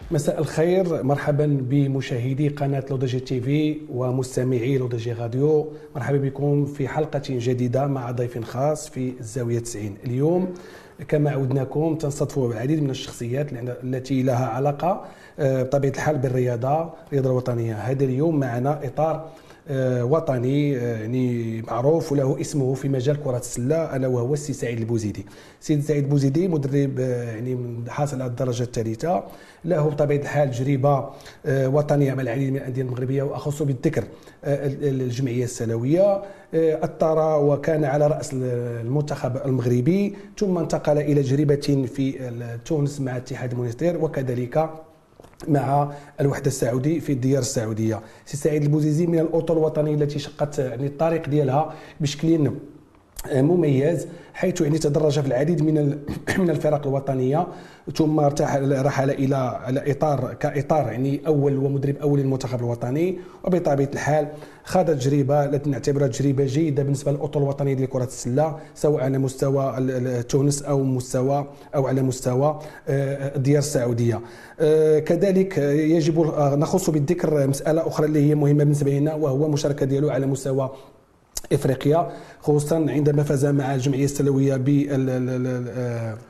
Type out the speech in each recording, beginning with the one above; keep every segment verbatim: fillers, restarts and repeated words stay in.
مساء الخير، مرحبا بمشاهدي قناة لودجي تي في ومستمعي لودجي راديو. مرحبا بكم في حلقة جديدة مع ضيف خاص في الزاوية تسعين. اليوم كما عودناكم تنصدفوا العديد من الشخصيات التي لها علاقة بطبيعة الحال بالرياضة الرياضة الوطنية. هذا اليوم معنا إطار وطني يعني معروف وله اسمه في مجال كرة السلة، ألا وهو السي سعيد البوزيدي. سيد سعيد البوزيدي مدرب يعني حاصل على الدرجة الثالثة، له بطبيعة الحال تجربة وطنية مع العديد من الأندية المغربية، وأخص بالذكر الجمعية السلوية. أثر وكان على رأس المنتخب المغربي، ثم انتقل إلى تجربة في تونس مع اتحاد المونستير، وكذلك مع الوحدة السعودي في الديار السعودية. سي سعيد البوزيدي من الأطر الوطنية التي شقت يعني الطريق ديالها بشكل مميز، حيث يعني تدرج في العديد من من الفرق الوطنيه، ثم ارتحل رحل الى الى اطار كاطار يعني اول ومدرب اول للمنتخب الوطني. وبطبيعه الحال خاض تجربه التي نعتبرها تجربه جيده بالنسبه للاطر الوطنيه ديال كره السله، سواء على مستوى تونس او مستوى او على مستوى الديار السعوديه. كذلك يجب نخص بالذكر مساله اخرى اللي هي مهمه بالنسبه لنا، وهو المشاركه ديالو على مستوى افريقيا، خصوصا عندما فاز مع الجمعيه السلويه بلقب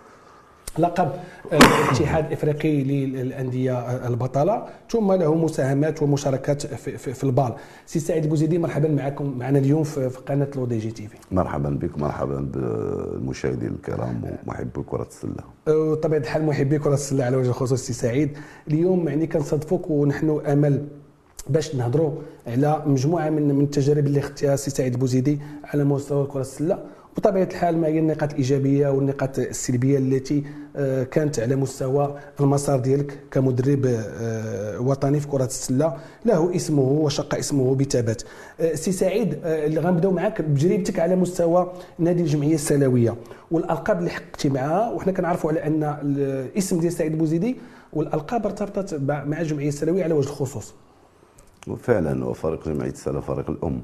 الاتحاد الافريقي للانديه البطله، ثم له مساهمات ومشاركات في, في, في البال. سي سعيد البوزيدي، مرحبا معكم معنا اليوم في, في قناه لو دي تي في. مرحبا بك، مرحبا بالمشاهدين الكرام ومحبي كره السله. وطبيعه الحال محبي كره السله على وجه الخصوص. سي سعيد، اليوم يعني كنصادفوك ونحن امل باش نهضروا على مجموعه من من التجارب اللي اختها السي سعيد البوزيدي على مستوى كره السله، وبطبيعه الحال ما هي النقاط الايجابيه والنقاط السلبيه التي كانت على مستوى المسار ديالك كمدرب وطني في كره السله، له اسمه وشق اسمه بثبات. سي سعيد، اللي غنبداو معك بتجربتك على مستوى نادي الجمعيه السلويه والالقاب اللي حققتي معها، وحنا كنعرفوا على ان الاسم ديال سعيد البوزيدي والالقاب ارتبطت مع الجمعيه السلويه على وجه الخصوص. وفعلا وفريق جمعيه السله فريق الام.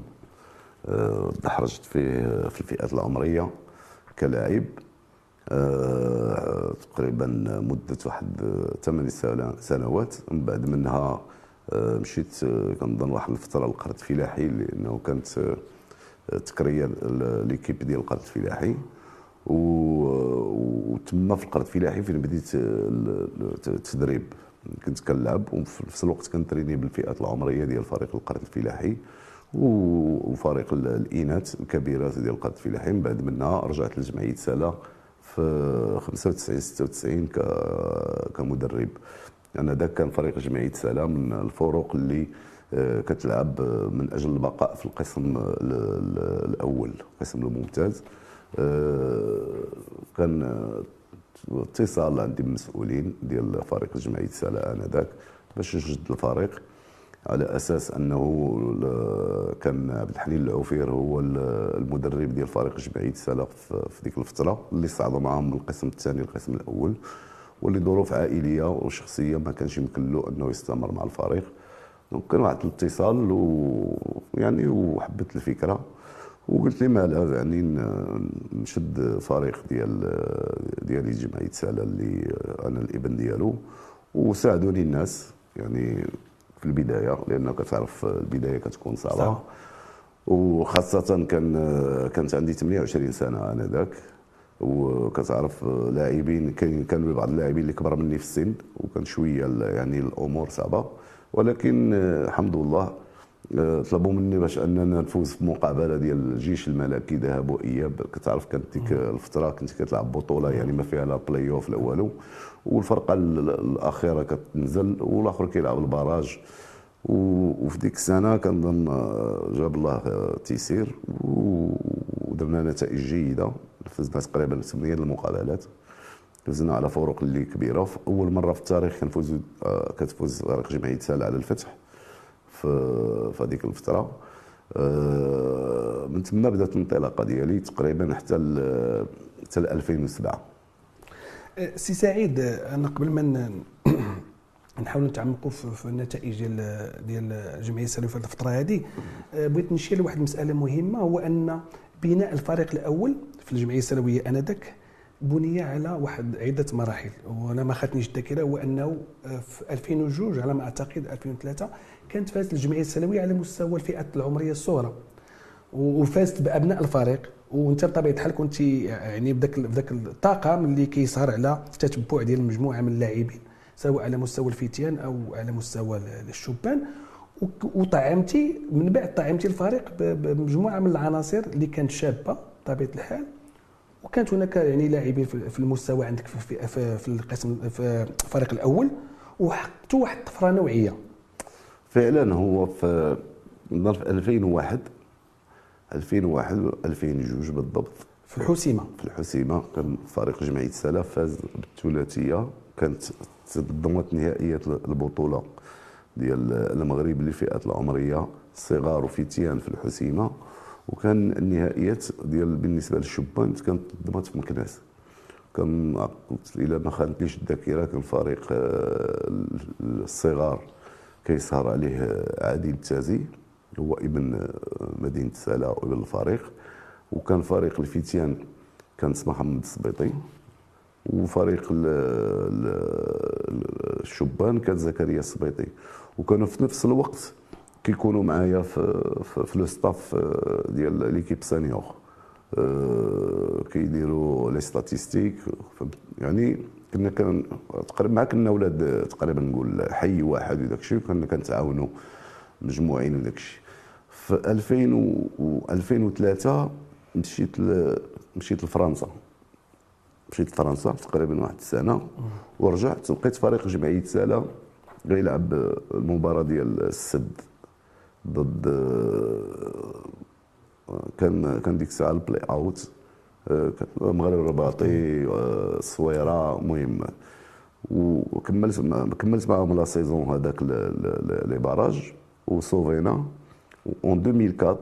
دحرجت في في الفئات العمريه كلاعب تقريبا مده واحد ثمان سنوات. من بعد منها مشيت كنظن واحد الفتره للقرد الفلاحي، لانه كانت تكريا ليكيب ديال القرد الفلاحي، وتما في القرد الفلاحي فين بديت التدريب. كنت كنلعب وفي نفس الوقت كنتريني بالفئات العمريه ديال فريق القرد الفلاحي وفريق الاناث الكبيرات ديال القرد الفلاحي. من بعد منها رجعت لجمعيه سلا في خمسة وتسعين ستة وتسعين كمدرب. انا ذاك كان فريق جمعيه سلا من الفرق اللي كتلعب من اجل البقاء في القسم الاول، القسم الممتاز. كان اتصال عندي بالمسؤولين ديال فريق جمعيه سلا انذاك باش نجد الفريق، على اساس انه كان عبد الحليم العوفير هو المدرب ديال فريق جمعيه سلا في ديك الفتره، اللي صعدوا معهم من القسم الثاني للقسم الاول، واللي ظروف عائليه وشخصيه ما كانش يمكن له انه يستمر مع الفريق. دونك كان واحد الاتصال ويعني وحبت الفكره وقلت لي ما لا يعني نشد فريق ديال ديالي جمعيه سلا اللي انا الابن ديالو، وساعدوني الناس يعني في البدايه، لانه كتعرف البدايه كتكون صعبه، وخاصه كان كانت عندي ثمانية وعشرين سنه انذاك، وكتعرف لاعبين كانوا بعض اللاعبين اللي كبر مني في السن، وكان شويه يعني الامور صعبه، ولكن الحمد لله طلبوا مني باش اننا نفوز في مقابله ديال الجيش الملكي ذهب واياب. كتعرف كانت ديك الفتره كنت كتلعب بطوله يعني ما فيها لا بلاي اوف لا والو، والفرقه الاخيره كتنزل والاخر كيلعب البراج. وفي ديك السنه كنظن جاب الله تيسير ودرنا نتائج جيده، فزنا تقريبا ثمانيه المقابلات، فزنا على فرق اللي كبيره. في اول مره في التاريخ كنفوز كتفوز فريق جمعيه سلا على الفتح في في هذيك الفتره. من ثم بدات الانطلاقه ديالي تقريبا حتى حتى ألفين وسبعة. سي سعيد، انا قبل ما نحاولوا نتعمقوا في النتائج ديال ديال الجمعيه السلويه في الفتره هذه، بغيت نشير لواحد المساله مهمه، هو ان بناء الفريق الاول في الجمعيه السلويه انذاك بني على واحد عده مراحل، وانا ما خاتنيش الذاكره، هو انه في ألفين واثنين على ما اعتقد ألفين وثلاثة كانت فازت الجمعيه السنويه على مستوى الفئات العمريه الصغرى، وفازت بابناء الفريق. وانت بطبيعه الحال كنت يعني بداك بداك الطاقم اللي كيسهر على التتبع ديال مجموعه من اللاعبين سواء على مستوى الفتيان او على مستوى الشبان، وطعمتي من بعد طعمتي الفريق بمجموعه من العناصر اللي كانت شابه بطبيعه الحال، وكانت هناك يعني لاعبين في المستوى عندك في في, في القسم في الفريق الاول، وحققتوا واحد الطفره نوعيه. فعلا هو في في ألفين وواحد ألفين وواحد و ألفين وجوج بالضبط في الحسيمه في الحسيمه كان فريق جمعيه سلا فاز بالثلاثيه، كانت تضمنت نهائيات البطوله ديال المغرب للفئات العمريه صغار وفتيان في الحسيمه، وكان النهائيات ديال بالنسبه للشبان كانت تضمنت في مكناس. كان الى ما خانتنيش الذاكره كان فريق الصغار كيسهر عليه عادل التازي، هو ابن مدينه سلا وابن الفريق، وكان فريق الفتيان كان اسمه محمد السبيطي، وفريق الشبان كان زكريا السبيطي، وكانوا في نفس الوقت كيكونوا معايا في في, في لو ستاف ديال ليكيب سانيور، كيديروا لي ستاتيستيك، يعني كنا كان تقريبا مع كنا ولاد تقريبا نقول حي واحد وداك الشيء، وكنا كنتعاونوا مجموعين وداك الشيء. في ألفين و ألفين وثلاثة مشيت ل... مشيت لفرنسا مشيت لفرنسا تقريبا واحد السنه، ورجعت لقيت فريق جمعيه سلا غيلعب المباراه ديال السد ضد كان كان ديك الساعه البلاي اوت، المغرب الرباطي الصويره، المهم وكملت كملت معاهم لا سيزون هذاك لي باراج وصوفينا اون ألفين وأربعة،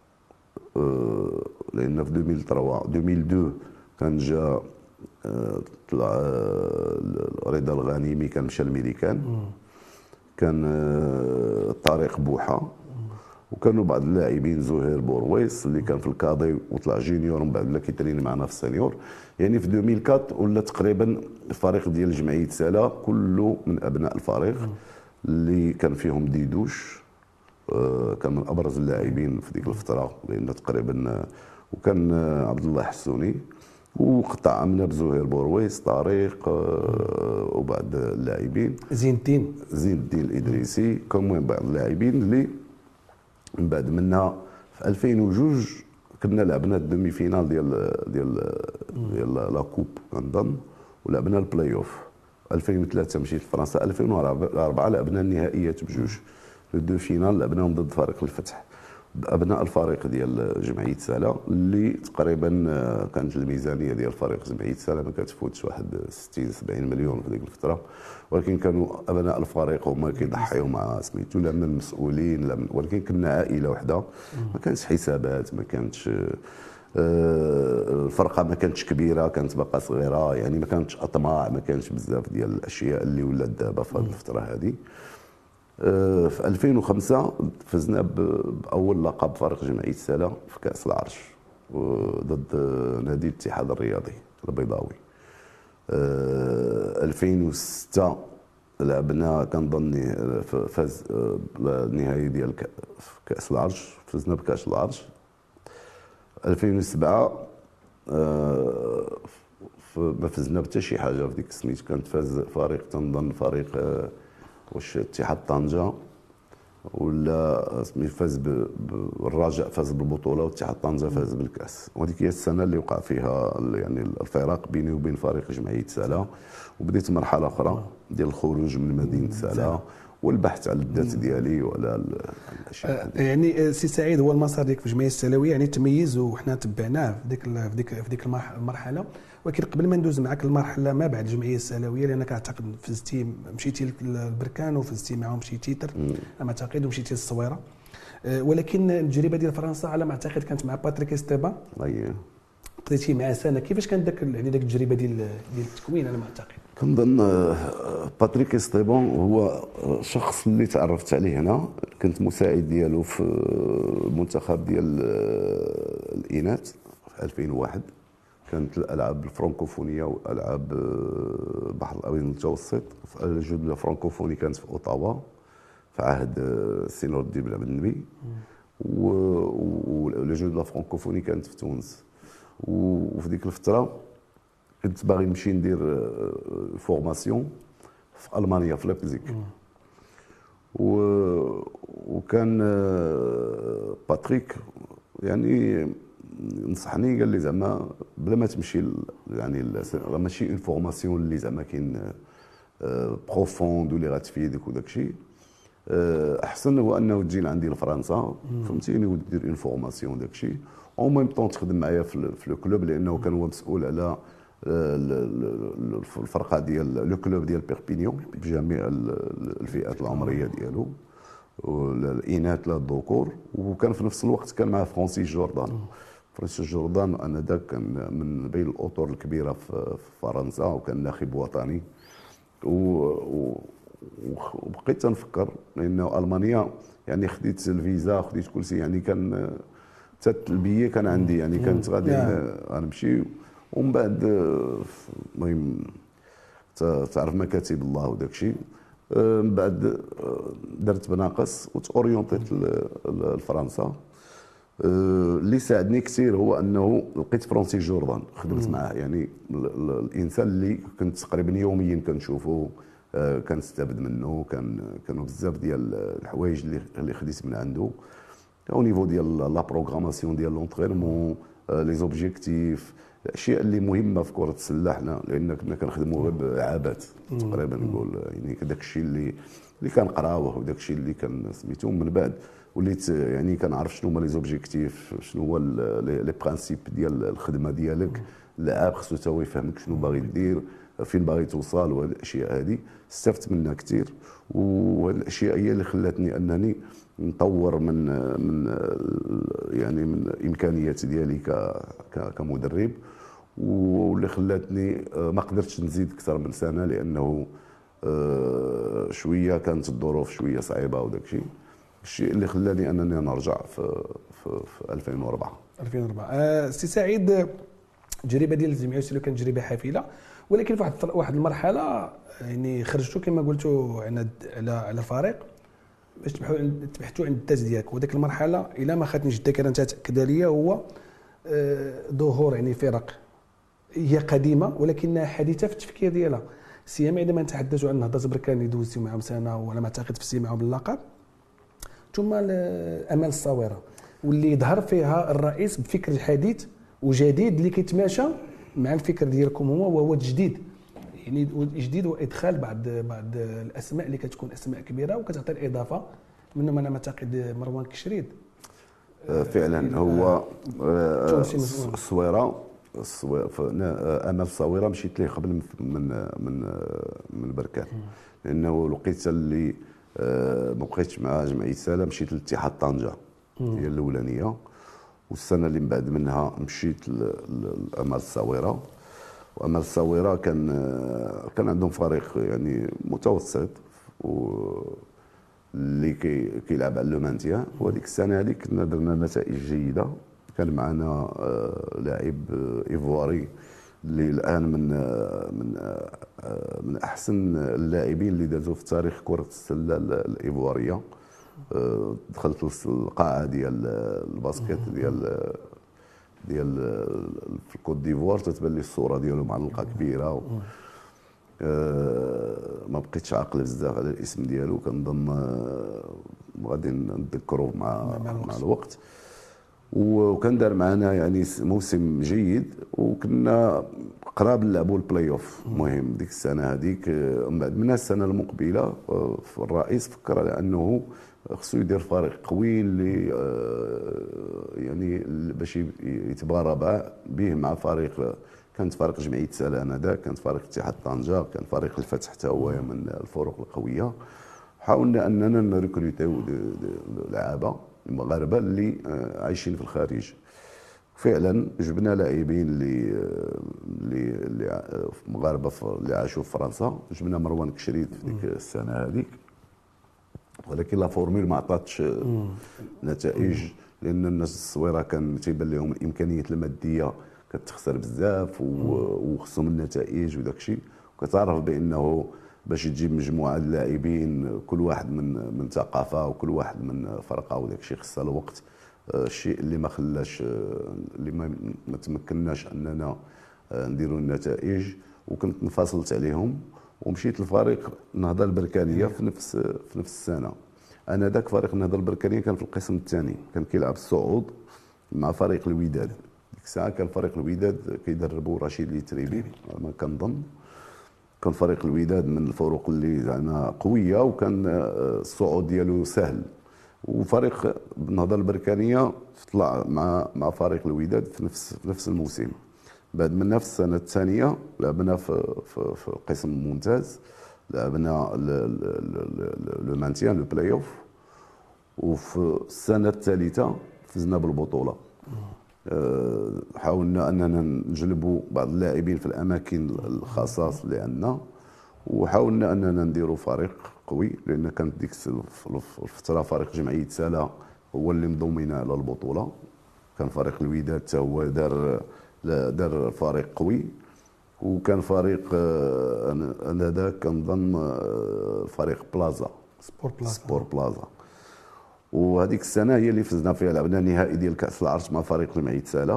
لان في ألفين وثلاثة ألفين واثنين كان جا طلع رضا الغانمي كان مشى الميريكان، كان طارق بوحه، وكانوا بعض اللاعبين زهير بورويس اللي كان في الكادي وطلع جونيور من بعد ولا كيترين معنا في السينيور. يعني في ألفين وأربعة ولا تقريبا الفريق ديال جمعيه سلا كله من ابناء الفريق اللي كان فيهم ديدوش، كان من ابرز اللاعبين في ديك الفتره، لان تقريبا وكان عبد الله حسوني، وقطع عملنا بزهير بورويس طارق وبعض اللاعبين زين الدين زين الدين الادريسي، كان المهم بعض اللاعبين اللي من بعد منها في ألفين وجوج كنا لعبنا الدومي فينال ديال ديال ديال لا كوب كنظن، ولعبنا البلاي اوف. ألفين وثلاثة مشيت لفرنسا، ألفين وأربعة لعبنا النهائيات بجوج، لو دو فينال لعبناهم ضد فريق الفتح بابناء الفريق ديال جمعيه سلا، اللي تقريبا كانت الميزانيه ديال فريق جمعيه سلا ما كتفوتش واحد ستين سبعين مليون في ديك الفتره، ولكن كانوا ابناء الفريق هما كيضحيو مع سميتو لا من المسؤولين لا من، ولكن كنا عائله وحده، ما كانش حسابات، ما كانتش الفرقه ما كانتش كبيره، كانت باقا صغيره، يعني ما كانتش اطماع، ما كانش بزاف ديال الاشياء اللي ولات دابا في هذه الفتره هذه. في ألفين وخمسة فزنا باول لقب فريق جمعيه سلا في كاس العرش ضد نادي الاتحاد الرياضي البيضاوي. ألفين وستة لعبنا كنظن فاز النهائي ديال كاس العرش، فزنا بكاس العرش. ألفين وسبعة ما فزنا حتى شي حاجه في ديك السميت، كانت فاز فريق تنظن فريق واش اتحاد طنجه ولا سمي فاز بالرجاء فاز بالبطوله، واتحاد طنجه فاز بالكاس، وهذيك هي السنه اللي وقع فيها يعني الفراق بيني وبين فريق جمعيه سلا، وبديت مرحله اخرى ديال الخروج من مدينه سلا والبحث على الذات ديالي وعلى الاشياء. يعني سي سعيد، هو المسار ديالك في الجمعيه السلويه يعني تميز وحنا تبعناه في ديك في ديك في ديك المرحله، ولكن قبل ما ندوز معك المرحله ما بعد الجمعيه السلويه، لانك اعتقد فزتي مشيتي للبركان وفزتي معهم شي تيتر على ما اعتقد، ومشيتي للصويره، ولكن التجربه ديال فرنسا على ما اعتقد كانت مع باتريك استيبان، اييه قضيتي معاه سنه. كيفاش كانت داك يعني داك التجربه ديال ديال التكوين؟ انا ما اعتقد كنظن باتريك استيبان هو شخص اللي تعرفت عليه هنا، كنت مساعد ديالو في المنتخب ديال الاناث في ألفين وواحد، كانت الالعاب الفرنكوفونيه والالعاب البحر الابيض المتوسط. الجوج الفرنكوفوني كانت في اوتاوا في عهد السي نور الدين بن عبد النبي، والجوج الفرنكوفوني كانت في تونس. وفي ديك الفتره كنت باغي نمشي ندير فورماسيون في المانيا في ليبزيك، وكان باتريك يعني نصحني، قال لي زعما بلا ما تمشي يعني راه ماشي اون فورماسيون اللي زعما كاين بروفوند واللي غتفيدك وداك الشيء، احسن هو انه تجي لعندي لفرنسا فهمتيني ودير اون فورماسيون داك الشيء، او ميم طون تخدم معايا في لو كلوب، لانه كان هو مسؤول على الفرقه ديال لو كلوب ديال بيربينيون بجميع الفئات العمريه ديالو، الاناث لا الذكور. وكان في نفس الوقت كان مع فرانسيس جوردان. فرانسيس جوردان انذاك كان من بين الاطر الكبيره في فرنسا، وكان ناخب وطني. وبقيت تنفكر لانه المانيا يعني خديت الفيزا خديت كل شيء، يعني كان حتى البيه كان عندي، يعني كانت غادي غنمشي. ومن بعد المهم تعرف مكاتب الله وداك الشيء، من بعد درت بناقص وتاورينتيت لفرنسا. اللي ساعدني كثير هو انه لقيت فرانسيس جوردان خدمت معاه، يعني الانسان اللي كنت تقريبا يوميا كنشوفه، كنستافد منه، كان كانوا بزاف ديال الحوايج اللي اللي خديت من عنده او نيفو ديال لا بروغراماسيون ديال لونترينمون، لي زوبجيكتيف، الاشياء اللي مهمه في كره السله حنا، لان كنا كنخدموا غير بعابات تقريبا نقول، يعني داك الشيء اللي اللي كنقراوه وداك الشيء اللي كان سميتو. من بعد وليت يعني كنعرف شنو هما لي زوبجيكتيف، شنو هو لي برانسيب ديال الخدمه ديالك. اللاعب خصو تا هو يفهمك شنو باغي دير، فين باغي توصل، وهاد الاشياء هذه استفدت منها كثير. وهاد الاشياء هي اللي خلاتني انني نطور من من يعني من امكانيات ديالي كمدرب، واللي خلاتني ما قدرتش نزيد اكثر من سنه، لانه شويه كانت الظروف شويه صعيبه وداك الشيء، الشيء اللي خلاني انني نرجع في في, في ألفين وأربعة. ألفين وأربعة أه سي سعيد، التجربه ديال الجمعيه السلوى كانت تجربه حافله، ولكن في واحد واحد المرحله يعني خرجتوا كما قلتوا على على فريق باش تبحثوا عن الذات ديالك. وذاك المرحله الى ما خاتنيش الذاكره تاكد ليا هو ظهور يعني فرق هي قديمه ولكنها حديثه في التفكير ديالها، سيما عندما نتحدث عن نهضه بركان اللي دوزتوا معهم سنه وعلى ما اعتقد فزتي معهم باللقب، ثم امال الصويره واللي ظهر فيها الرئيس بفكر حديث وجديد اللي كيتماشى مع الفكر ديالكم هو وهو التجديد، يعني الجديد وادخال بعض بعض الاسماء اللي كتكون اسماء كبيره وكتعطي الاضافه، منهم انا معتقد مروان كشريد. فعلا هو الصويره امال الصويره مشيت ليه قبل من من من بركان، لانه لقيت اللي ما بقيتش مع جمعيه سالا، مشيت لاتحاد طنجه هي الاولانيه، والسنه اللي من بعد منها مشيت لامال الصويره. وامال الصويره كان كان عندهم فريق يعني متوسط اللي كيلعب على لو مانتيان، وهذيك السنه هذيك كنا درنا نتائج جيده. كان معنا لاعب ايفواري اللي الان من من من احسن اللاعبين اللي دازوا في تاريخ كره السله الايفواريه. دخلت القاعه ديال الباسكيت ديال ديال في الكوت ديفوار، تتبان لي الصوره ديالو معلقه كبيره. ما بقيتش عاقل بزاف على الاسم ديالو، كنظن غادي نتذكروه مع مع الوقت. وكان دار معنا يعني موسم جيد، وكنا قراب نلعبوا البلاي اوف. المهم ديك السنه هذيك من بعد منها السنه المقبله الرئيس فكر على انه خصو يدير فريق قوي اللي يعني باش يتبارى به مع فريق. كانت فريق جمعيه سالا انذاك، كانت فريق اتحاد طنجه، كان فريق الفتح حتى هو من الفرق القويه. حاولنا اننا نريكروتيو لعابه المغاربه اللي عايشين في الخارج. فعلا جبنا لاعبين اللي اللي اللي مغاربه اللي عاشوا في فرنسا. جبنا مروان كشريد في ديك السنه هذيك، ولكن لا فورميل ما عطاتش نتائج، لان الناس الصويره كان تيبان لهم الامكانيات الماديه كتخسر بزاف وخصهم النتائج وداك الشيء، وكتعرف بانه باش تجيب مجموعه اللاعبين كل واحد من من ثقافه وكل واحد من فرقه وداك الشيء خصها الوقت. الشيء اللي ما خلاش اللي ما, ما تمكناش اننا نديروا النتائج، وكنت انفصلت عليهم ومشيت لفريق النهضه البركانيه في نفس في نفس السنه. انا ذاك فريق النهضه البركانيه كان في القسم الثاني، كان كيلعب الصعود مع فريق الوداد. ديك الساعه كان فريق الوداد كيدربوا رشيد اليتريبي ما كنظن. كان فريق الوداد من الفرق اللي زعما قويه، وكان الصعود ديالو سهل. وفريق النهضه البركانيه طلع مع مع فريق الوداد في نفس في نفس الموسم. بعد منها في السنه الثانيه لعبنا في في, في القسم الممتاز، لعبنا لو مانتيان لو بلاي اوف، وفي السنه الثالثه فزنا بالبطوله. حاولنا اننا نجلبوا بعض اللاعبين في الاماكن الخاصه اللي عندنا، وحاولنا اننا نديروا فريق قوي، لان كانت ديك الفتره فريق جمعيه سالا هو اللي مضمنا على البطوله. كان فريق الوداد حتى هو دار دار فريق قوي، وكان فريق انا ذاك كنظن فريق بلازا سبور بلازا سبور بلازا. وهذيك السنه هي اللي فزنا فيها، لعبنا النهائي ديال كاس العرش مع فريق جمعيه سالا،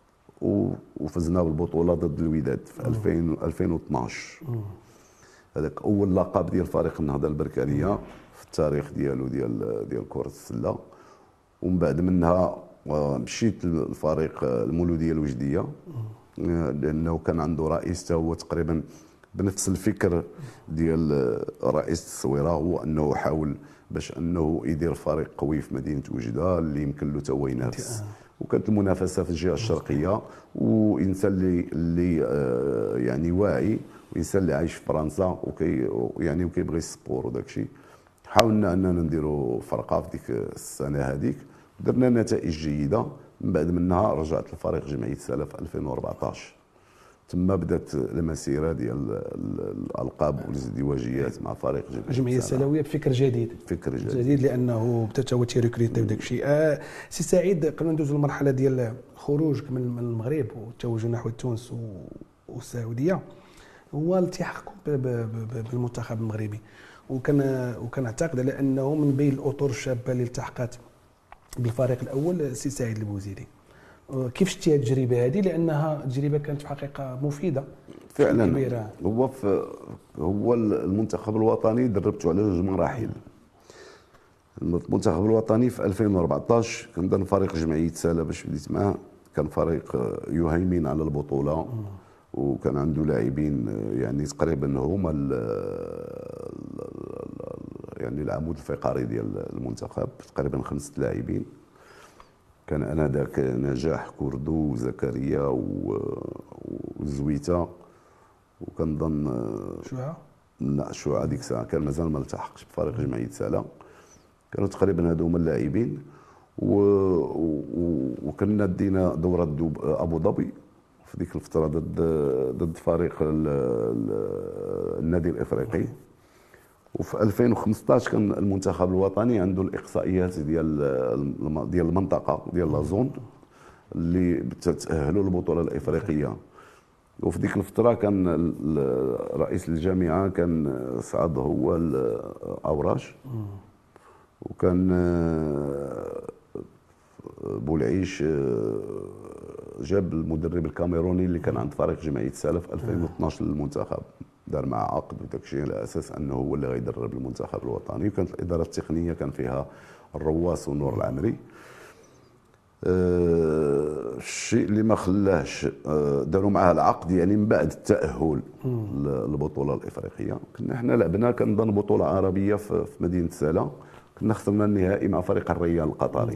وفزنا بالبطوله ضد الوداد في ألفين واثناش. هذاك اول لقب ديال فريق النهضه البركانيه في التاريخ ديالو ديال ديال كره السله. ومن بعد منها مشيت للفريق المولوديه الوجديه، لانه كان عنده رئيس هو تقريبا بنفس الفكر ديال رئيس التصويره، هو انه حاول باش انه يدير فريق قوي في مدينه وجده اللي يمكن له تو ينافس. وكانت المنافسه في الجهه الشرقيه، وانسان اللي اللي يعني واعي، وانسان اللي عايش في فرنسا وكي يعني وكيبغي السبور وداك الشيء. حاولنا اننا نديروا فرقه في ديك السنه هذيك، درنا نتائج جيده. من بعد منها رجعت لفريق جمعيه سالا في ألفين وأربعطاش. تما بدات المسيره ديال الالقاب والازدواجيات مع فريق جمعيه السلاويه بفكر جديد فكر جديد, جديد لانه بدا هو تيريكريتي وداك الشيء. آه سي سعيد، قبل ندوزوا المرحله ديال خروجك من المغرب والتوجه نحو تونس والسعوديه، هو التحاقكم بالمنتخب المغربي. وكان وكنعتقد على انه من بين الاطر الشابه اللي التحقت بالفريق الاول سي سعيد البوزيدي. كيف شتي هذه التجربه هذه؟ لانها تجربه كانت في الحقيقه مفيده فعلا كبيرة. هو في هو المنتخب الوطني دربته على جوج مراحل. المنتخب الوطني في ألفين وأربعطاش كان ضمن فريق جمعيه سالا باش بديت معاه، كان فريق يهيمن على البطوله، وكان عنده لاعبين يعني تقريبا هما يعني العمود الفقري ديال المنتخب، تقريبا خمسه لاعبين. كان انا ذاك نجاح كردو وزكريا وزويته، وكنظن شوعه لا شوعه ديك الساعه كان مازال ما التحقش بفريق جمعيه سالا. كانوا تقريبا هادو هما اللاعبين. وكنا دينا دوره ابو ظبي في ديك الفتره ضد ضد فريق النادي الافريقي. وفي ألفين وخمسطاش كان المنتخب الوطني عنده الاقصائيات ديال ديال المنطقه ديال لازون اللي تتاهلوا للبطوله الافريقيه. وفي ديك الفتره كان رئيس الجامعه كان سعد هو الاوراش، وكان بولعيش جاب المدرب الكاميروني اللي كان عند فريق جمعيه سالا في ألفين واثناش للمنتخب، دار معه عقد وداك الشيء على اساس انه هو اللي غيدرب المنتخب الوطني. وكانت الاداره التقنيه كان فيها الرواس ونور العمري. أه الشيء اللي ما خلاش أه داروا معاه العقد يعني من بعد التاهل للبطوله الافريقيه. كنا حنا لعبنا كنظن بطوله عربيه في مدينه سالا، كنا خسرنا النهائي مع فريق الريال القطري.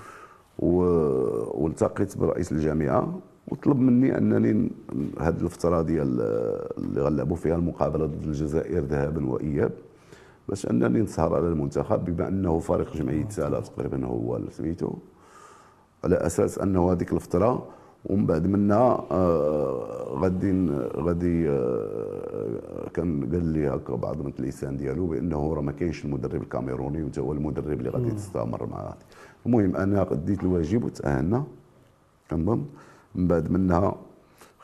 والتقيت برئيس الجامعه وطلب مني انني هذه الفتره ديال اللي غنلعبوا فيها المقابله ضد الجزائر ذهابا واياب باش انني نسهر على المنتخب، بما انه فريق جمعيه سالا تقريبا هو اللي سميتو، على اساس انه هذيك الفتره ومن بعد منها آه غادي غادي آه كان قال لي هكا بعض من اللسان ديالو بانه راه ما كاينش المدرب الكاميروني وانت هو المدرب اللي غادي تستمر معاه. المهم انا اديت الواجب وتاهلنا كنظن. من بعد منها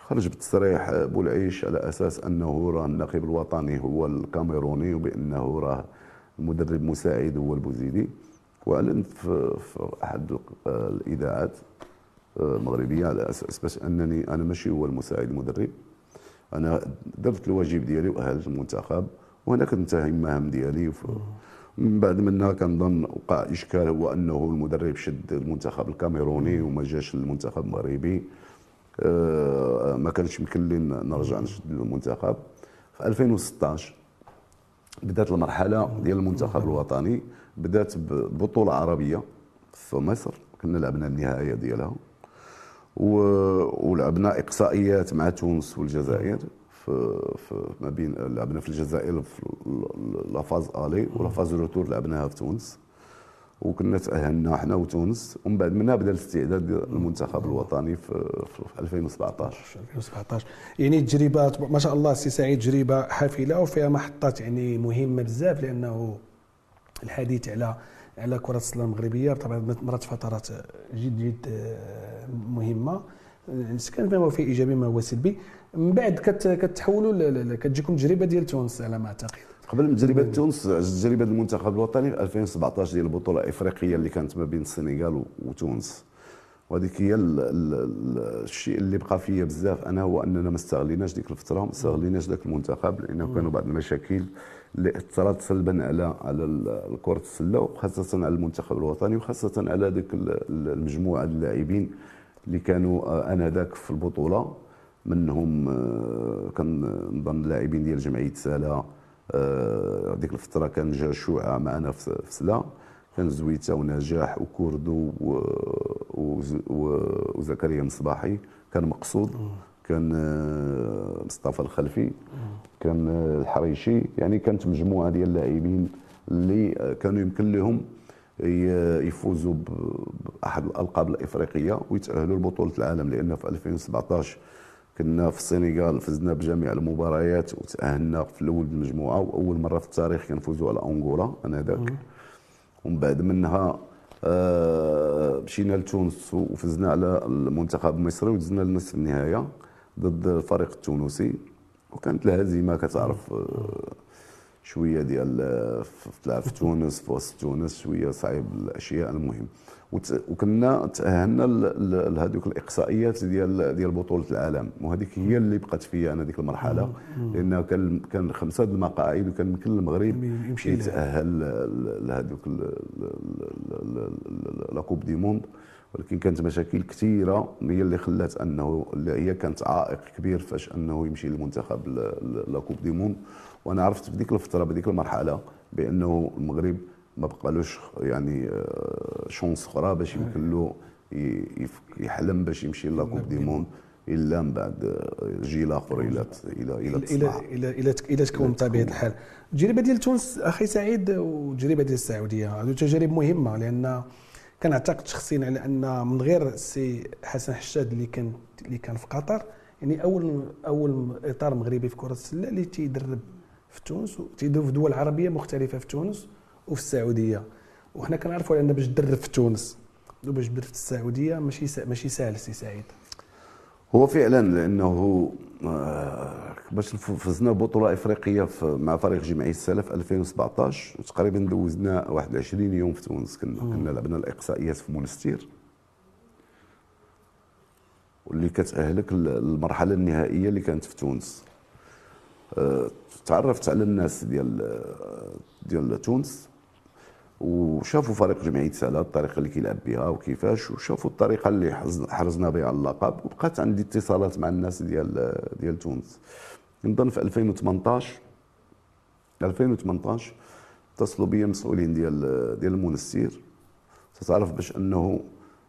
خرج بتصريح بولعيش على اساس انه راه الناخب الوطني هو الكاميروني وبانه راه المدرب مساعد هو البوزيدي. واعلن في, في احد الاذاعات المغربيه على اساس باش انني انا ماشي هو المساعد المدرب، انا درت الواجب ديالي واهلت المنتخب وانا كنتهي المهام ديالي. من بعد منها كنظن وقع اشكال هو انه المدرب شد المنتخب الكاميروني وما جاش المنتخب المغربي. أه ما كانش يمكن لي نرجع نشد المنتخب. في ألفين وستطاش بدات المرحله ديال المنتخب الوطني، بدات ببطوله عربيه في مصر، كنا لعبنا النهائيه ديالها ولعبنا اقصائيات مع تونس والجزائر. في, في ما بين لعبنا في الجزائر في لافاز الي ولافاز روتور لعبناها في تونس وكنا تاهلنا احنا وتونس. ومن بعد منها بدا الاستعداد ديال المنتخب الوطني في, في ألفين وسبعطاش. ألفين وسبعطاش يعني تجربه ما شاء الله سي سعيد، تجربه حافله وفيها محطات يعني مهمه بزاف، لانه الحديث على على كره السله المغربيه طبعا مرات فترات جد جد مهمه، كان ما هو في ايجابي ما هو سلبي. من بعد كتحولوا كتجيكم تجربه ديال تونس على ما اعتقد. قبل من تجربه تونس تجربه المنتخب الوطني في ألفين وسبعطاش ديال البطوله الافريقيه اللي كانت ما بين السنغال وتونس. وهذيك هي الشيء اللي بقى فيا بزاف انا، هو اننا ما استغليناش ديك الفتره، ما استغليناش ذاك المنتخب، لانه كانوا بعض المشاكل اللي اثرت سلبا على على كره السله وخاصه على المنتخب الوطني وخاصه على ذيك المجموعه اللاعبين اللي كانوا انذاك في البطوله. منهم كنظن اللاعبين ديال جمعيه سلا، ديك الفتره كان جا شوعه معنا في سلا، كان زويته ونجاح وكردو وزكريا مصباحي، كان مقصود، كان مصطفى الخلفي، كان الحريشي. يعني كانت مجموعه ديال اللاعبين اللي كانوا يمكن لهم يفوزوا باحد الالقاب الافريقيه ويتاهلوا لبطوله العالم. لان في ألفين وسبعطاش كنا في السنغال فزنا بجميع المباريات وتاهلنا في الاول المجموعه، واول مره في التاريخ كنفوزوا على انغولا انذاك. ومن بعد منها آه مشينا لتونس وفزنا على المنتخب المصري ودزنا لنصف النهايه ضد الفريق التونسي، وكانت الهزيمه كتعرف آه شويه ديال تلعب في تونس في وسط تونس شويه صعيب الاشياء. المهم وكنا تاهلنا لهذوك الاقصائيات ديال ديال بطوله العالم، وهذيك هي اللي بقات فيا انا ديك المرحله، لان كان كان خمسه د المقاعد وكان يمكن المغرب يتاهل لهذوك لا كوب دي موند. ولكن كانت مشاكل كثيره هي اللي خلات انه اللي هي كانت عائق كبير فاش انه يمشي للمنتخب لا كوب دي موند. وانا عرفت في ديك الفتره بديك المرحله بانه المغرب ما بقالوش يعني شونس اخرى باش يمكن له يحلم باش يمشي لا كوب دي موند الا من بعد جيل اخر الى الى الى الى الى الى الى تكون بطبيعه الحال. التجربه ديال تونس اخي سعيد والتجربه ديال السعوديه هذو تجارب مهمه، لان كنعتقد شخصيا على ان من غير السي حسن حشاد اللي كان اللي كان في قطر، يعني اول اول اطار مغربي في كره السله اللي تيدرب في تونس وتيدرب في دول عربيه مختلفه في تونس وفي السعوديه. وحنا كنعرفوا ان باش تدرب في تونس وباش تدرب في السعوديه ماشي ماشي سهل سي سعيد. هو فعلا لانه باش فزنا بطوله افريقيه مع فريق جمعيه السله في ألفين وسبعطاش تقريبا دوزنا واحد وعشرين يوم في تونس. كنا كنا لعبنا الاقصائيات في مونستير واللي كتاهلك المرحله النهائيه اللي كانت في تونس. تعرفت على الناس ديال ديال تونس وشافوا فريق جمعيه سلا الطريقه اللي كيلعب بها وكيفاش، وشافوا الطريقه اللي حرزنا بها على اللقب، وبقات عندي اتصالات مع الناس ديال ديال تونس. نظن في ألفين وثمنطاش ألفين وثمنطاش اتصلوا بيا مسؤولين ديال ديال المونستير. تعرف باش انه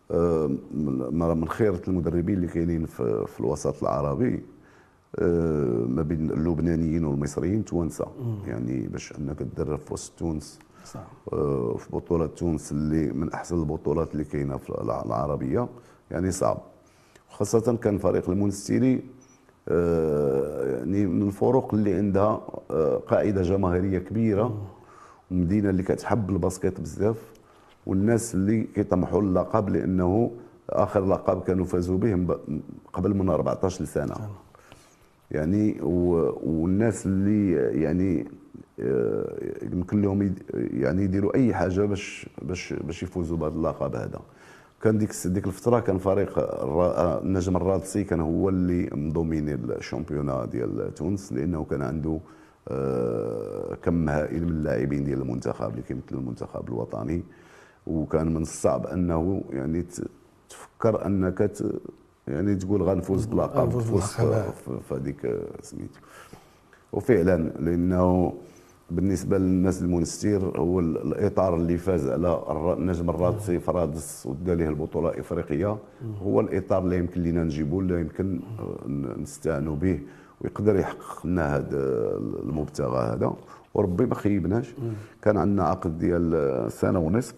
من خيره المدربين اللي كاينين في, في الوسط العربي ما بين اللبنانيين والمصريين توانسه، يعني باش انك تدرب في وسط تونس صح. في بطوله تونس اللي من احسن البطولات اللي كاينه في العربيه يعني صعب، خاصه كان فريق المونستيري يعني من الفرق اللي عندها قاعده جماهيريه كبيره ومدينه اللي كتحب الباسكيت بزاف، والناس اللي كيطمحوا للقب لانه اخر لقب كانوا فازوا به قبل من أربعطاش سنه. يعني والناس اللي يعني يمكن لهم يعني يديروا اي حاجه باش باش باش يفوزوا بهذا اللقب هذا. كان ديك ديك الفتره كان فريق النجم الرادسي كان هو اللي مضمين الشامبيونا ديال تونس، لانه كان عنده كم هائل من اللاعبين ديال المنتخب اللي كيمثل المنتخب الوطني، وكان من الصعب انه يعني تفكر انك يعني تقول غنفوز باللقب تفوز في هذيك سميتو. وفعلا لانه بالنسبه للناس المونستير هو الاطار اللي فاز على النجم الرادسي فرادس ودا ليه البطوله الافريقيه هو الاطار اللي يمكن لنا نجيبوه، اللي يمكن نستعانوا به ويقدر يحقق لنا هذا المبتغى هذا، وربي ما خيبناش. كان عندنا عقد ديال سنه ونصف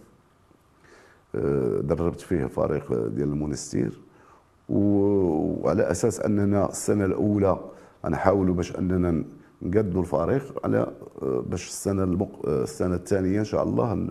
دربت فيه الفريق ديال المونستير، وعلى اساس اننا السنه الاولى غنحاولوا باش اننا نقدوا الفريق على باش السنه المق... السنه الثانيه ان شاء الله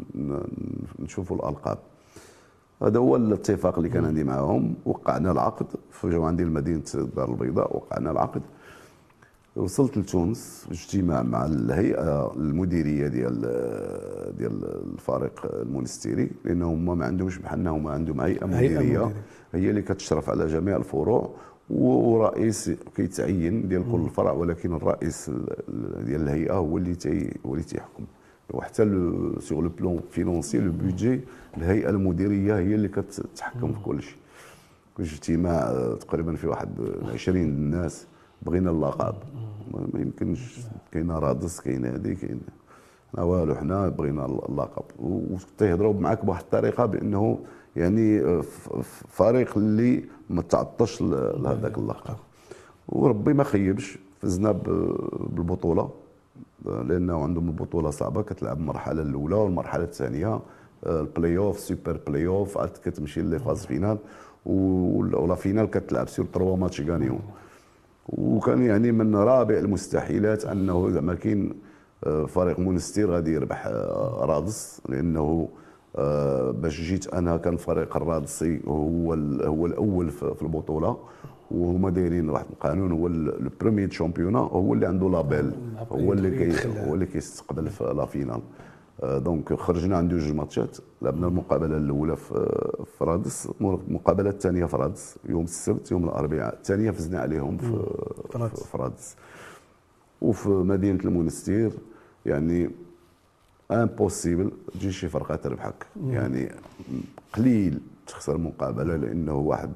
نشوفوا الالقاب. هذا هو الاتفاق اللي كان عندي معهم. وقعنا العقد في جو عندي مدينه الدار البيضاء، وقعنا العقد. وصلت لتونس باجتماع مع الهيئه المديريه ديال ديال الفريق المونستيري، لانه هما ما عندهمش بحالنا، هما عندهم هيئه مديريه هي اللي كتشرف على جميع الفروع، ورئيس كيتعين ديال كل فرع، ولكن الرئيس ديال الهيئه هو اللي تي هو اللي تيحكم. وحتى سيغ لو بلون فينونسي لو بودجي الهيئه المديريه هي اللي كتحكم في كل شيء. اجتماع تقريبا في واحد عشرين الناس بغينا اللقب، ما يمكنش، كاينه رادس كاينه هذه كاين والو، حنا بغينا اللقب. وتيهضروا معاك بواحد الطريقه بانه يعني فريق اللي ما تعطش لهذاك اللقب. وربي ما خيبش، فزنا بالبطوله لانه عندهم البطوله صعبه، كتلعب المرحله الاولى والمرحله الثانيه البلاي اوف سوبر بلاي اوف، عاد كتمشي لي فاز فينال، ولا فينال كتلعب سير تروا ماتش غانيون. وكان يعني من رابع المستحيلات انه زعما كاين فريق مونستير غادي يربح رادس، لانه باش جيت انا كان فريق الرادسي هو هو الاول في البطوله، وهما دايرين واحد القانون، هو لو بروميير شامبيونا هو اللي عنده لابيل، هو اللي كي هو اللي كيستقبل في لا فينال. دونك خرجنا عند جوج ماتشات، لعبنا المقابله الاولى في رادس، المقابله الثانيه في رادس يوم السبت، يوم الاربعاء الثانيه فزنا عليهم في في رادس. وفي مدينه المونستير يعني امبوسيبل تجي شي فرقه تربحك، يعني قليل تخسر مقابله، لانه واحد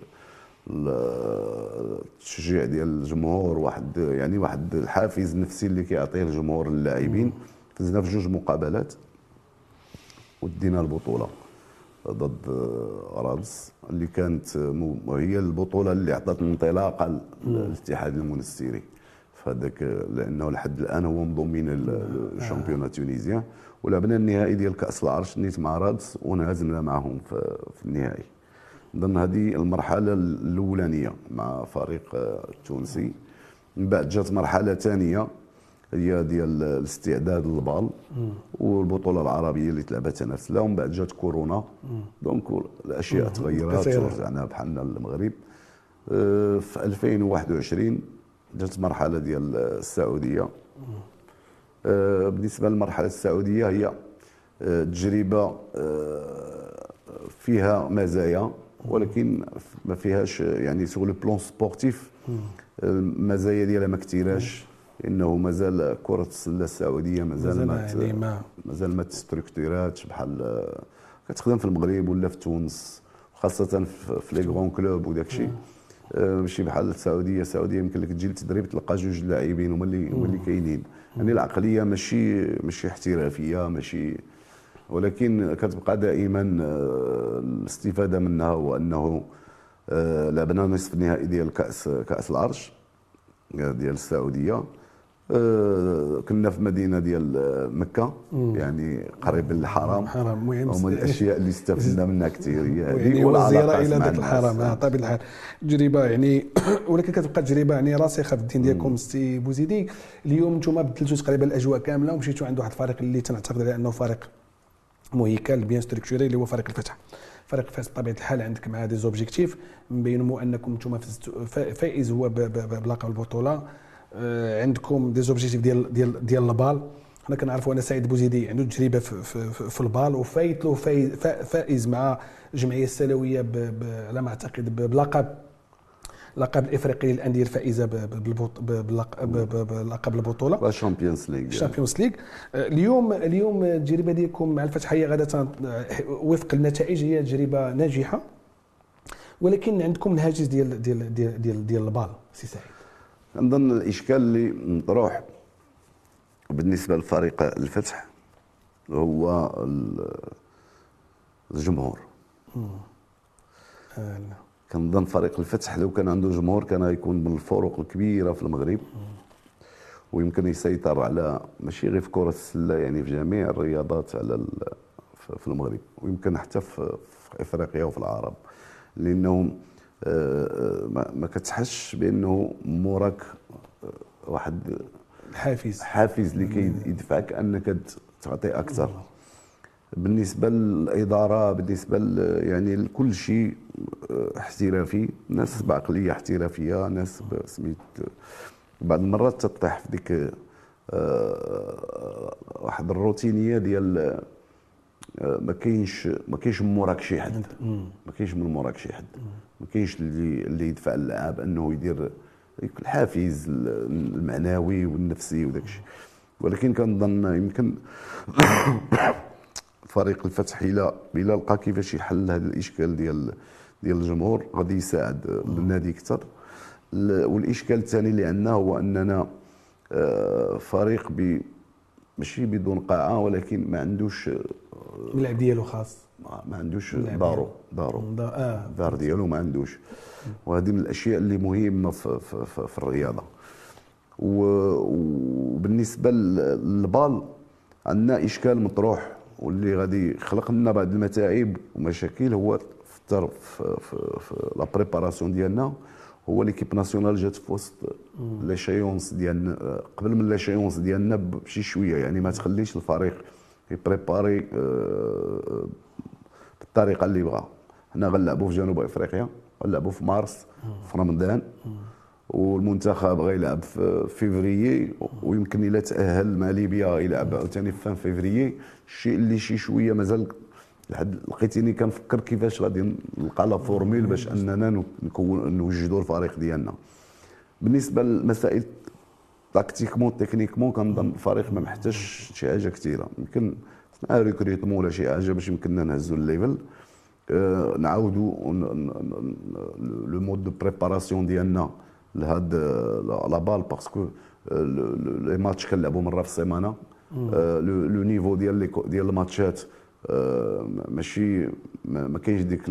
التشجيع ديال الجمهور، واحد يعني واحد الحافز النفسي اللي كيعطيه الجمهور للاعبين. فزنا في جوج مقابلات ودينا البطوله ضد رادس، اللي كانت هي البطوله اللي عطات الانطلاقه للاتحاد المونستيري فهذاك، لانه لحد الان هو منضمين الشامبيون التونسيان. ولعبنا النهائي ديال كاس العرش نيت مع رادس وانهزمنا معهم في, في النهائي. ضمن هذه المرحله الاولانيه مع فريق التونسي. من بعد جات مرحله ثانيه هي ديال الاستعداد للبال والبطوله العربيه اللي تلعبت نفس لها، ومن بعد جات كورونا. دونك الاشياء تغيرات ورجعنا بحالنا للمغرب. في ألفين وواحد وعشرين جات مرحله ديال السعوديه. بالنسبه للمرحله السعوديه هي تجربه فيها مزايا، ولكن ما فيهاش يعني سوغ لو بلون سبورتيف المزايا ديالها ما كثيراش، انه مازال كره السله السعوديه مازال ما يعني ما مازال ما تستركتوراتش بحال كتخدم في المغرب ولا في تونس، خاصه في لي غران كلوب وداك الشيء. ماشي بحال السعوديه. السعوديه يمكن لك تجي للتدريب تلقى جوج لاعبين هما اللي هما اللي كاينين، يعني العقليه ماشي ماشي احترافيه ماشي، ولكن كتبقى دائما الاستفاده منها هو انه لعبنا نصف النهائي ديال كاس كاس العرش ديال السعوديه. كنا في مدينه ديال مكه، يعني قريب للحرم. حرام هما الاشياء اللي استفدنا منها كثير هي يعني والزياره الى ذاك الحرم طبيعه الحال تجربه يعني ولكن كتبقى تجربه يعني راسخه في الدين ديالكم. سي بوزيدي اليوم نتوما بدلتوا تقريبا الاجواء كامله ومشيتوا عند واحد الفريق اللي تنعتقد عليه انه فريق مهيكل بيان ستركتوري اللي هو فريق الفتح. فريق فاس بطبيعه الحال عندك مع دي زوبجيكتيف مبينوا انكم نتوما فائز هو بلقب البطوله. عندكم دي زوبجيكتيف ديال ديال ديال البال. حنا كنعرفوا ان سعيد بوزيدي عنده تجربه في, في, في البال وفايت له فائز مع الجمعيه السلويه على ما اعتقد بلقب لقب الافريقي للانديه الفائزه بلقب البطوله الشامبيونز ليغ الشامبيونز ليغ. اليوم اليوم التجربه ديالكم مع الفتحيه غاده وفق النتائج هي تجربه ناجحه، ولكن عندكم الهاجس ديال ديال ديال ديال, ديال البال. سي سعيد، نظن الاشكال اللي مطروح بالنسبه لفريق الفتح هو الجمهور. آه كنظن فريق الفتح لو كان عنده جمهور كان يكون من الفروق الكبيره في المغرب، ويمكن يسيطر على ماشي غير في كره السله، يعني في جميع الرياضات على في المغرب، ويمكن حتى في افريقيا وفي العرب، لانه ما كتحسش بانه موراك واحد حافز حافز اللي كيدفعك انك تعطي اكثر. بالنسبه للاداره، بالنسبه يعني لكل شيء احترافي، ناس بعقليه احترافيه، ناس سميت بعض المرات تطيح في ديك واحد الروتينيه ديال ما كاينش ما كاينش من موراك شي حد، ما كاينش من موراك شي حد، ما كاينش اللي اللي يدفع اللاعب انه يدير الحافز المعنوي والنفسي وداك الشيء. ولكن كنظن يمكن فريق الفتح الى الى لقى كيفاش يحل هذا الاشكال ديال ديال الجمهور غادي يساعد النادي اكثر. والاشكال الثاني اللي عندنا هو اننا فريق ب ماشي بدون قاعه، ولكن ما عندوش الملعب ديالو خاص، ما عندوش دارو دارو آه. دار ديالو ما عندوش، وهذه من الاشياء اللي مهمه في, في, في, في الرياضه. وبالنسبه للبال عندنا اشكال مطروح واللي غادي يخلق لنا بعض المتاعب ومشاكل، هو في في في لا بريباراسيون ديالنا، هو ليكيب ناسيونال جات في وسط لاشيونس ديالنا قبل من لاشيونس ديالنا بشي شويه، يعني ما تخليش الفريق يبريباري بالطريقه اللي بغا. حنا غنلعبوا في جنوب افريقيا، غنلعبوا في مارس في رمضان، والمنتخب غيلعب في فيفريي، ويمكن الا تاهل مع ليبيا يلعب عاوتاني في فيفريي. الشيء اللي شي شويه مازال لحد لقيتيني كنفكر كيفاش غادي نلقى لا فورميل باش اننا نكون نوجدوا الفريق ديالنا. بالنسبه للمسائل تاكتيكمون تكنيكمون كنظن الفريق ما محتاجش شي حاجه كثيره، يمكن مع ريكريتمون ولا شي حاجه باش يمكننا نهزوا الليفل، أه نعاودوا لو مود دو بريباراسيون ديالنا لهاد لا بال، باسكو لي ماتش كنلعبوا مره في السيمانه، لو نيفو ديال ديال الماتشات ماشي ما كاينش ديك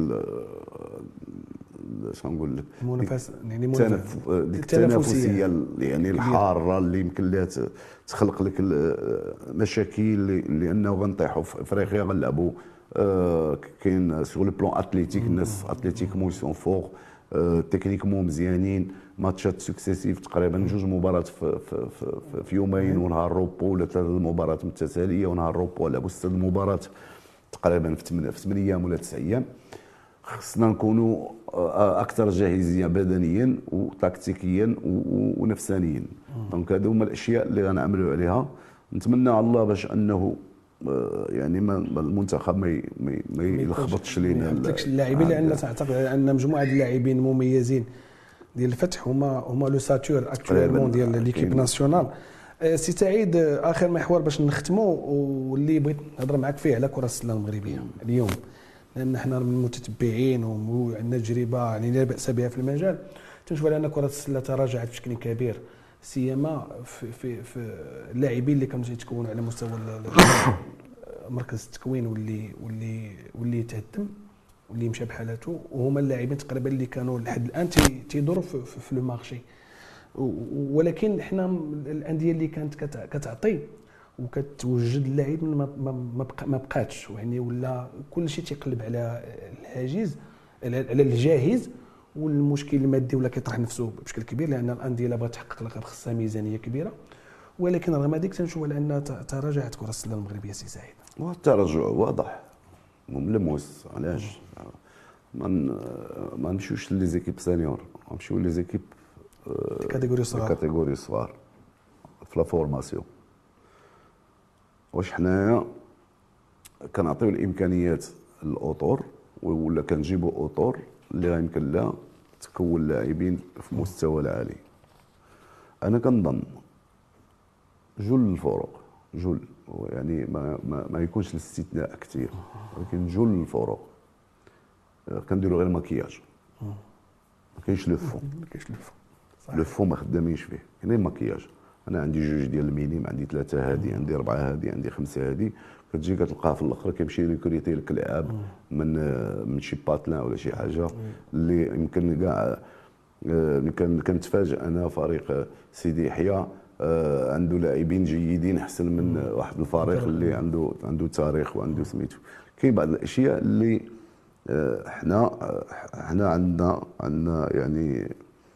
اش غنقول لك المنافسه، يعني ديك التنافسيه يعني الحاره اللي يمكن لها تخلق لك مشاكل، لانه غنطيحوا في افريقيا غنلعبوا كاين سور لو بلون اتليتيك، الناس اتليتيكمون سون فور، تكنيكمون مزيانين، ماتشات سكسيسيف تقريبا جوج مباريات في, في, في, في يومين ونهار روبو، ولا ثلاث مباريات متتاليه ونهار روبو، لعبوا ست مباريات تقريبا في ثمانية ايام ولا تسع ايام. خصنا نكونوا اكثر جاهزيه بدنيا وتكتيكيا ونفسانيا. دونك هذو هما الاشياء اللي غنعملوا عليها. نتمنى على الله باش انه يعني ما المنتخب ما ما يلخبطش لينا، ما يحطلكش اللاعبين، لان تعتقد ان مجموعه اللاعبين مميزين ديال الفتح هما هما لو ساتور اكطوالمون ديال ليكيب ناسيونال. سي سعيد، اخر محور باش نختموا واللي بغيت نهضر معك فيه على كره السله المغربيه اليوم، لان حنا من المتتبعين وعندنا تجربه يعني لا باس بها في المجال، تنشوف على ان كره السله تراجعت بشكل كبير، سيما في في في اللاعبين اللي كانوا يتكونوا على مستوى مركز التكوين واللي واللي واللي تهدم واللي مشى بحالته، وهما اللاعبين تقريبا اللي كانوا لحد الان تيدوروا في, في, في لو مارشي. ولكن حنا الانديه اللي كانت كتعطي وكتوجد اللاعب ما ما بقاتش، يعني ولا كل شيء تيقلب على الحاجز على الجاهز، والمشكل المادي ولا كيطرح نفسه بشكل كبير، لان الانديه اللي بغات تحقق لقب خصها ميزانيه كبيره. ولكن رغم ذلك تنشوف على ان تراجعت كره السله المغربيه. سي سعيد، التراجع واضح ملموس. علاش ما ما نمشيوش لي زيكيب سينيور، نمشيو لي زيكيب كاتيجوري صغار كاتيجوري صغار في لا فورماسيون. واش حنايا كنعطيو الامكانيات للاطور ولا كنجيبوا اطور اللي يمكن لها تكون لاعبين في مستوى العالي؟ انا كنظن جل الفروق، جل يعني ما ما, ما يكونش الاستثناء كثير، ولكن جل الفروق كنديروا غير مكياج، ما كاينش لو فون، ما كاينش لو فون لو فون ما خدامينش فيه، كاين غير مكياج. انا عندي جوج ديال المينيم، عندي ثلاثه هادي، عندي اربعه هادي، عندي خمسه هادي، كتجي كتلقاه في الاخر كيمشي ريكوريتي لك لعاب من من شي باتلان ولا شي حاجه اللي يمكن كاع كنتفاجئ انا فريق سيدي يحيى عنده لاعبين جيدين احسن من واحد الفريق اللي عنده عنده تاريخ وعنده سميتو. كاين بعض الاشياء اللي حنا حنا عندنا عندنا يعني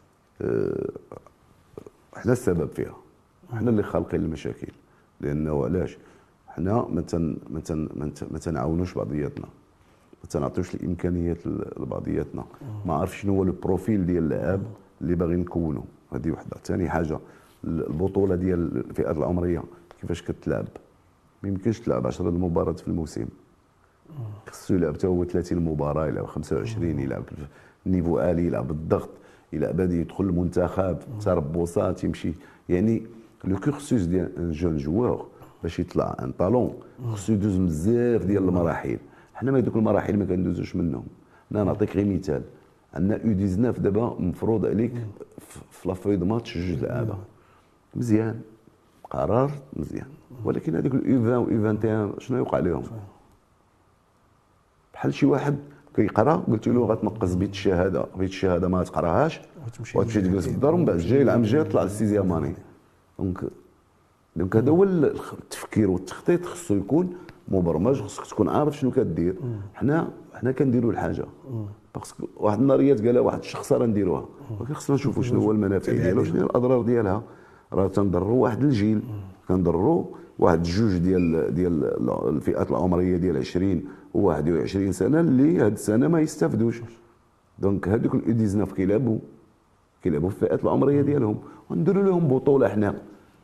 حنا السبب فيها، حنا اللي خالقين المشاكل. لانه علاش حنا ما تن ما تن ما تنعاونوش بعضياتنا، ما تنعطيوش الامكانيات لبعضياتنا، ما عارف شنو هو البروفيل ديال اللاعب اللي باغي نكونوا. هذه وحده. ثاني حاجه البطوله ديال الفئات العمريه كيفاش كتلعب؟ ما يمكنش تلعب عشرة المباريات في الموسم، خصو يلعب حتى هو ثلاثين مباراه، يلعب خمسة وعشرين، يلعب نيفو عالي، يلعب بالضغط، يلعب هذه يدخل المنتخب، تربصات يمشي. يعني لو كورسوس ديال ان جون جوار باش يطلع ان طالون خصو يدوز بزاف ديال المراحل. حنا ما هذوك المراحل ما كندوزوش منهم. انا نعطيك غير مثال، عندنا يو تسعة عشر دابا مفروض عليك في لافوي دو ماتش جوج لعابه مزيان، قرار مزيان، ولكن هذيك اليو عشرين و يو واحد وعشرين شنو يوقع لهم؟ بحال شي واحد كيقرا قلت له غتنقص بيت الشهاده، بيت الشهاده ما تقراهاش وتمشي تجلس في الدار، ومن بعد الجاي العام الجاي طلع للسيزيام اني. دونك دونك هذا هو التفكير والتخطيط، خصو يكون مبرمج، خصك تكون عارف شنو كدير. حنا حنا كنديروا الحاجه باسكو واحد النهاريات قالها واحد الشخص راه نديروها، ولكن خصنا نشوفوا شنو هو المنافع ديالها وشنو هي الاضرار ديالها. راه تنضروا واحد الجيل، كنضروا واحد جوج ديال ديال الفئات العمريه ديال عشرين و واحد وعشرين سنه اللي هاد السنه ما يستافدوش. دونك هذوك اليو تسعة عشر كيلعبوا كيلعبوا في الفئات العمريه ديالهم، ونديروا لهم بطوله حنا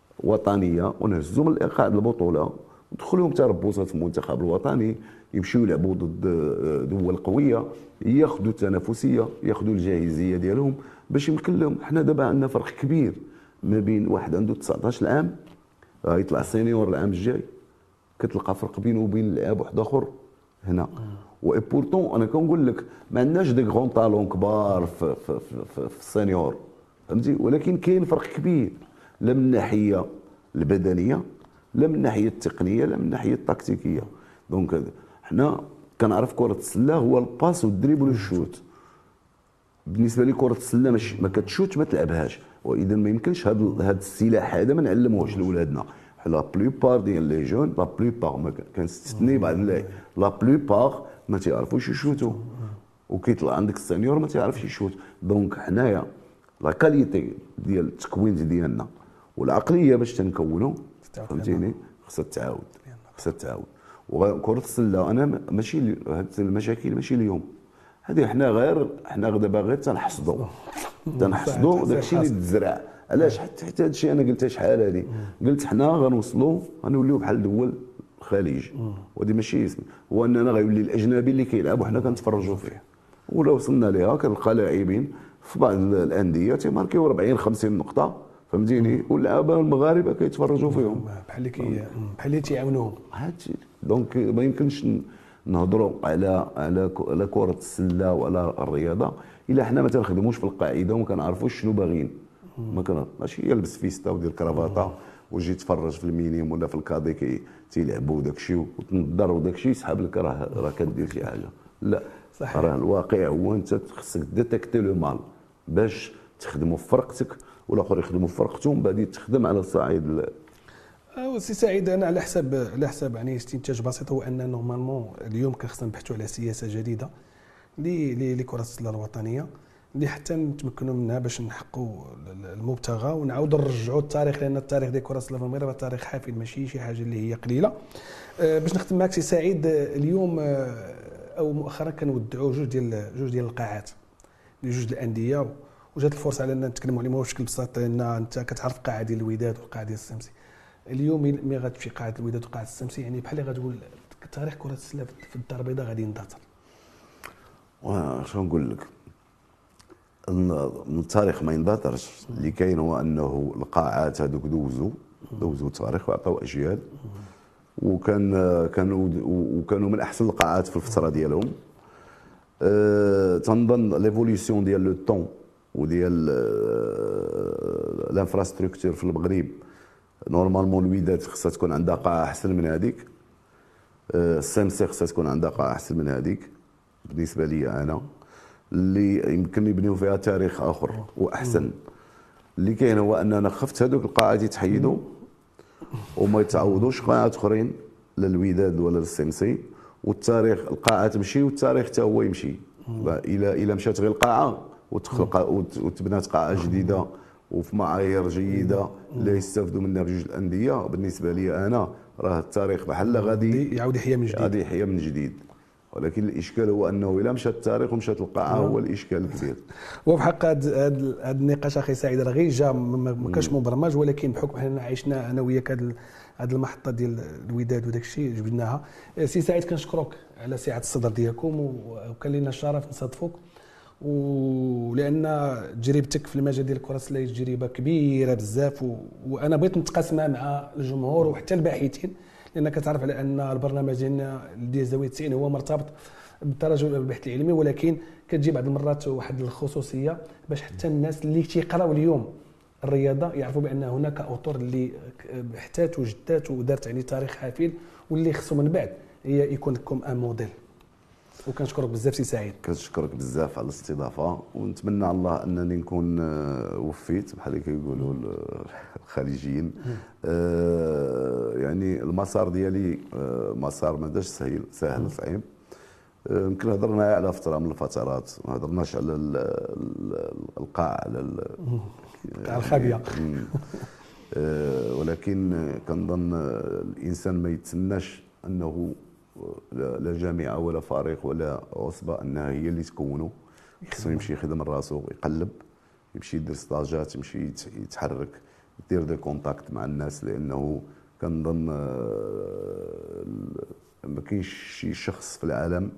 وطنيه ونهزوا من الايقاع ديال البطوله ودخلوهم تربصات في المنتخب الوطني، يمشيو يلعبوا ضد دول قويه، ياخذوا التنافسيه، ياخذوا الجاهزيه ديالهم باش يمكن لهم. حنا دابا عندنا فرق كبير ما بين واحد عنده تسعطاش عام يطلع سينيور العام الجاي، كتلقى فرق بينه وبين اللاعب واحد اخر هنا. و بورتون انا كنقول لك ما عندناش دي غون طالون كبار في, في, في, في السينيور، فهمتي، ولكن كاين فرق كبير لا من الناحيه البدنيه لا من الناحيه التقنيه لا من الناحيه التكتيكيه. دونك حنا كنعرف كره السله هو الباس والدريبل والشوت. بالنسبه لي كره السله ماشي ما كتشوت ما تلعبهاش، واذا ما يمكنش هذا هذا السلاح هذا ما نعلموهش لولادنا. لا بلوبار ديال لي جون، لا بلوبار ما كنستثني بعض اللاعب، لا بلوبار ما تيعرفوش يشوتوا، وكيطلع عندك السينيور ما تيعرفش يشوت. دونك حنايا لا كاليتي ديال التكوين ديالنا والعقليه باش تنكونوا، فهمتيني، خصها تعاود، خصها تعاود. وكره السله انا ماشي هاد المشاكل ماشي اليوم، هذه حنا غير حنا دابا غير تنحصدوا تنحصدوا داكشي اللي تزرع. علاش؟ حتى حتى هذا الشيء انا قلتها شحال هذه، قلت حنا غنوصلوا غنوليو بحال دول الخليج، وهذه ماشي اسم، هو اننا غيولي الاجنبي اللي كيلعب وحنا كنتفرجوا فيه. ولا وصلنا ليها كنلقى لاعبين في بعض الانديه تيماركيو أربعين خمسين نقطه، فهمتيني، واللعابه المغاربه كيتفرجوا فيهم بحال اللي كي بحال اللي تيعاونوهم. هادشي دونك ما يمكنش نهضروا على على على كره السله وعلى الرياضه الا حنا ما تنخدموش في القاعده وما كنعرفوش شنو باغيين. ما كان ماشي يلبس فيستا ودير كرافاطه ويجي يتفرج في المينيم ولا في الكادي كي تيلعبوا داكشي وتنضر وداكشي يسحب لك راه راه كدير شي حاجه. لا صحيح، راه الواقع هو انت خصك ديتيكتي لو مال باش تخدموا في فرقتك والاخر يخدموا في فرقتهم، بعدين تخدم على الصعيد. سي سعيد، انا على حساب على حساب يعني استنتاج بسيط هو ان نورمالمون اليوم كان خصنا نبحثوا على سياسه جديده لكره السله الوطنيه اللي حتى نتمكنوا منها باش نحققوا المبتغى ونعاودوا نرجعوا التاريخ، لان التاريخ ديال كره السله في المغرب تاريخ حافل ماشي شي حاجه اللي هي قليله. باش نختم معك سي سعيد، اليوم او مؤخرا كنودعوا جوج ديال جوج ديال القاعات لجوج الانديه، وجات الفرصه على ان نتكلموا عليهم بشكل بسيط، لان انت كتعرف قاعه ديال الوداد والقاعه ديال السمسي. اليوم ملي غتمشي قاعه الوداد وقاعه السمسي، يعني بحال اللي غتقول تاريخ كره السله في الدار البيضاء غادي يندثر. واش نقول لك، التاريخ ما يندثرش. اللي كاين هو انه القاعات هذوك دوزوا دوزوا التاريخ وعطاو اجيال، وكان كانوا وكانوا من احسن القاعات في الفتره ديالهم. أه تنظن ليفوليسيون ديال لو طون وديال الانفراستركتور في المغرب، نورمالمون الوداد خصها تكون عندها قاعه احسن من هذيك، السمسي خصها تكون عندها قاعه احسن من هذيك بالنسبه لي انا، اللي يمكن يبنيو فيها تاريخ اخر واحسن. اللي كاين هو اننا خفت هذوك القاعات يتحيدوا وما يتعوضوش قاعات اخرين للوداد ولا للسمسي، والتاريخ القاعه تمشي والتاريخ حتى هو يمشي. الى الى مشات غير القاعه وتخلق وتبنات قاعه جديده وفي معايير جيده اللي يستافدوا منها بجوج الانديه، بالنسبه لي انا راه التاريخ بحال غادي يعاود يحيى من جديد، غادي يحيى من جديد. ولكن الاشكال هو انه الا مشى التاريخ ومشات القاعه هو الاشكال الكبير. وفي حق هذا النقاش اخي سعيد راه غير جا ما كانش مبرمج، ولكن بحكم حنا عشنا انا وياك هذه المحطه ديال الوداد وداك الشيء جبناها. سي سعيد كنشكرك على سعه الصدر ديالكم، وكان لنا الشرف نصادفوك، ولان تجربتك في المجال ديال الكره السله تجربه كبيره بزاف، وانا بغيت نتقاسمها مع الجمهور وحتى الباحثين، لانك تعرف على ان البرنامج ديالنا ديال زاويه تسعين هو مرتبط بالتراجع البحث العلمي، ولكن كتجي بعض المرات واحد الخصوصيه باش حتى الناس اللي تيقراو اليوم الرياضه يعرفوا بان هناك اطر اللي بحثات وجدات ودارت يعني تاريخ حافل، واللي خصو من بعد هي يكون لكم ان موديل. وكنشكرك بزاف سي سعيد. كنشكرك بزاف على الاستضافه، ونتمنى على الله انني نكون وفيت بحال اللي كيقولوا الخليجيين. آه يعني المسار ديالي آه مسار ما داش سهل سهل صعيب. يمكن آه هضرنا على فتره من الفترات، ما هضرناش على القاع على القاع الخابيه. آه ولكن كنظن الانسان ما يتسناش انه لا جامعه ولا فريق ولا عصبه انها هي اللي تكونوا. خصو يمشي يخدم راسو، يقلب، يمشي يدير ستاجات، يمشي يتحرك، يدير دي كونتاكت مع الناس، لانه كنظن ما كاينش شي شخص في العالم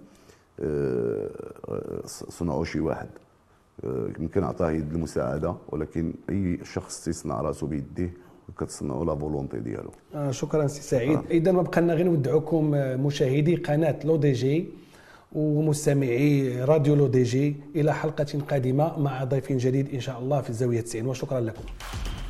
صنعوا شي واحد. يمكن عطاه يد المساعده، ولكن اي شخص تيصنع راسو بيديه كتصنعوا لا فولونتي ديالو. آه شكرا سي سعيد. آه. اذا ما بقى لنا غير نودعوكم مشاهدي قناه لو دي جي ومستمعي راديو لو دي جي الى حلقه قادمه مع ضيف جديد ان شاء الله في الزاويه تسعين، وشكرا لكم.